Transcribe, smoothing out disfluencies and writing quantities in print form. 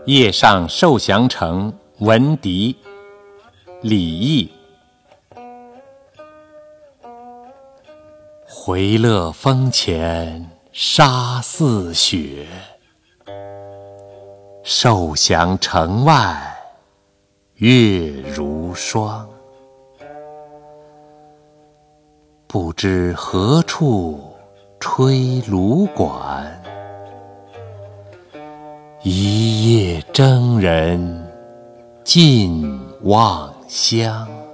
夜上受降城，闻笛。李益。回乐峰前沙似雪，受降城外月如霜。不知何处吹芦管，一夜征人尽望乡。